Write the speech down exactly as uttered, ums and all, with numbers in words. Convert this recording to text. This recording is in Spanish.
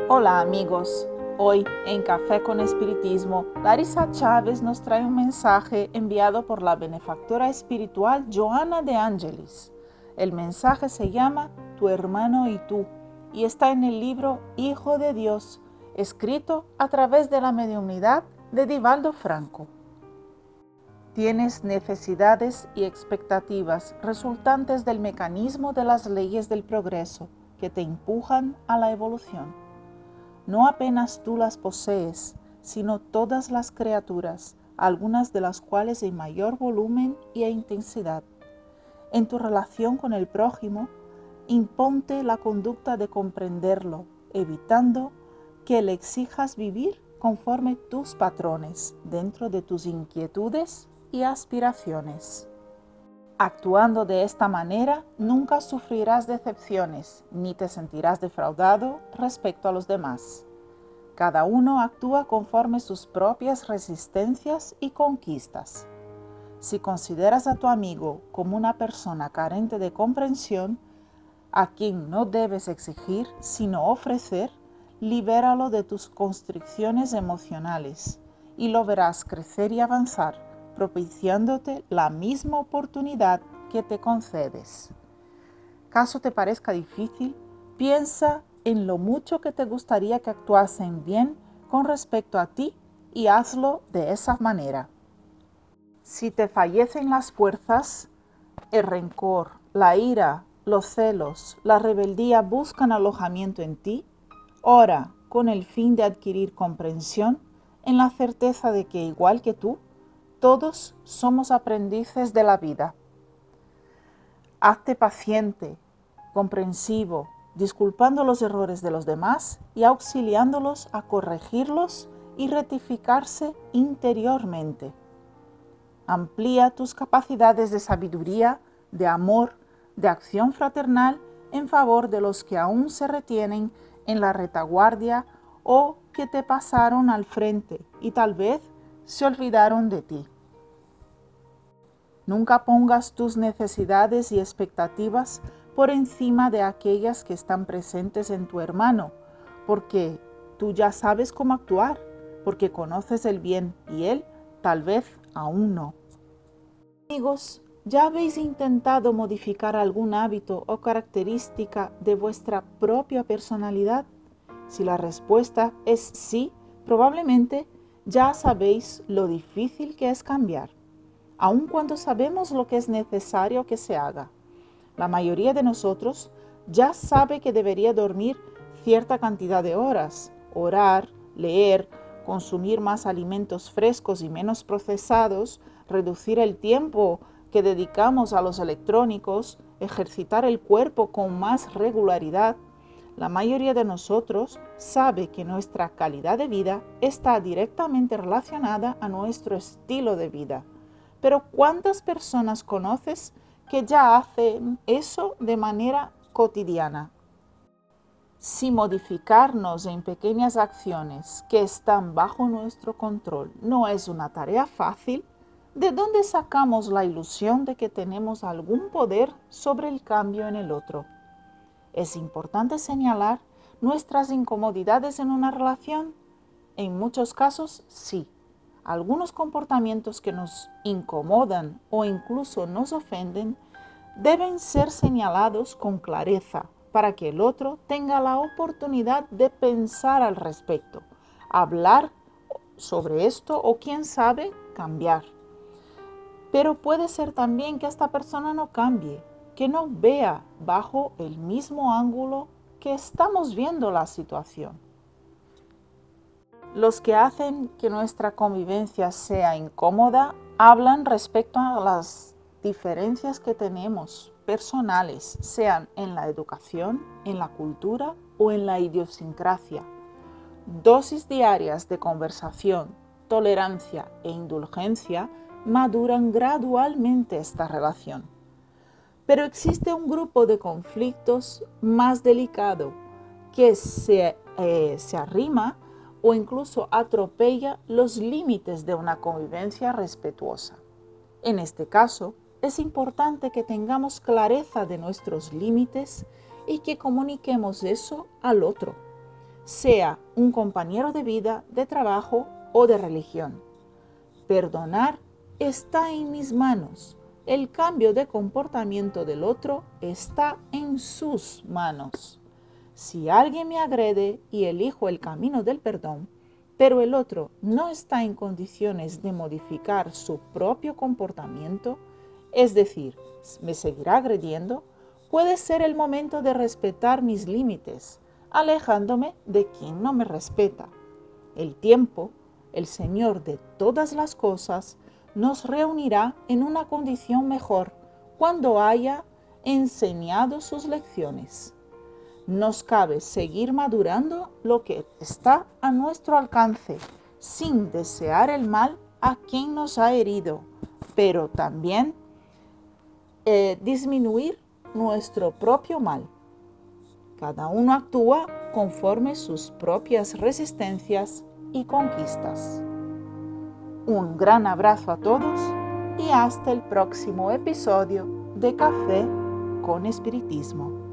Hola amigos, hoy en Café con Espiritismo, Larisa Chávez nos trae un mensaje enviado por la benefactora espiritual Joana de Angelis. El mensaje se llama Tu hermano y tú y está en el libro Hijo de Dios, escrito a través de la mediunidad de Divaldo Franco. Tienes necesidades y expectativas resultantes del mecanismo de las leyes del progreso que te empujan a la evolución. No apenas tú las posees, sino todas las criaturas, algunas de las cuales en mayor volumen y intensidad. En tu relación con el prójimo, imponte la conducta de comprenderlo, evitando que le exijas vivir conforme tus patrones, dentro de tus inquietudes y aspiraciones. Actuando de esta manera, nunca sufrirás decepciones, ni te sentirás defraudado respecto a los demás. Cada uno actúa conforme sus propias resistencias y conquistas. Si consideras a tu amigo como una persona carente de comprensión, a quien no debes exigir, sino ofrecer, libéralo de tus constricciones emocionales y lo verás crecer y avanzar, propiciándote la misma oportunidad que te concedes. Caso te parezca difícil, piensa en lo mucho que te gustaría que actuasen bien con respecto a ti y hazlo de esa manera. Si te fallecen las fuerzas, el rencor, la ira, los celos, la rebeldía buscan alojamiento en ti, ora con el fin de adquirir comprensión en la certeza de que, igual que tú, todos somos aprendices de la vida. Hazte paciente, comprensivo, disculpando los errores de los demás y auxiliándolos a corregirlos y rectificarse interiormente. Amplía tus capacidades de sabiduría, de amor, de acción fraternal en favor de los que aún se retienen en la retaguardia o que te pasaron al frente y tal vez se olvidaron de ti. Nunca pongas tus necesidades y expectativas por encima de aquellas que están presentes en tu hermano, porque tú ya sabes cómo actuar, porque conoces el bien y él tal vez aún no. Amigos, ¿ya habéis intentado modificar algún hábito o característica de vuestra propia personalidad? Si la respuesta es sí, probablemente ya sabéis lo difícil que es cambiar, aun cuando sabemos lo que es necesario que se haga. La mayoría de nosotros ya sabe que debería dormir cierta cantidad de horas, orar, leer, consumir más alimentos frescos y menos procesados, reducir el tiempo que dedicamos a los electrónicos, ejercitar el cuerpo con más regularidad. La mayoría de nosotros sabe que nuestra calidad de vida está directamente relacionada a nuestro estilo de vida. Pero ¿cuántas personas conoces que ya hacen eso de manera cotidiana? Si modificarnos en pequeñas acciones que están bajo nuestro control no es una tarea fácil, ¿de dónde sacamos la ilusión de que tenemos algún poder sobre el cambio en el otro? Es importante señalar nuestras incomodidades en una relación. En muchos casos, sí. Algunos comportamientos que nos incomodan o incluso nos ofenden deben ser señalados con clareza para que el otro tenga la oportunidad de pensar al respecto, hablar sobre esto o, quién sabe, cambiar. Pero puede ser también que esta persona no cambie, que no vea bajo el mismo ángulo que estamos viendo la situación. Los que hacen que nuestra convivencia sea incómoda hablan respecto a las diferencias que tenemos personales, sean en la educación, en la cultura o en la idiosincrasia. Dosis diarias de conversación, tolerancia e indulgencia maduran gradualmente esta relación. Pero existe un grupo de conflictos más delicado que se, eh, se arrima o incluso atropella los límites de una convivencia respetuosa. En este caso, es importante que tengamos clareza de nuestros límites y que comuniquemos eso al otro. sea un compañero de vida, de trabajo o de religión. Perdonar está en mis manos. El cambio de comportamiento del otro está en sus manos. Si alguien me agrede y elijo el camino del perdón, pero el otro no está en condiciones de modificar su propio comportamiento, es decir, me seguirá agrediendo, puede ser el momento de respetar mis límites, alejándome de quien no me respeta. El tiempo, el Señor de todas las cosas, nos reunirá en una condición mejor cuando haya enseñado sus lecciones. Nos cabe seguir madurando lo que está a nuestro alcance, sin desear el mal a quien nos ha herido, pero también eh, disminuir nuestro propio mal. Cada uno actúa conforme sus propias resistencias y conquistas. Un gran abrazo a todos y hasta el próximo episodio de Café con Espiritismo.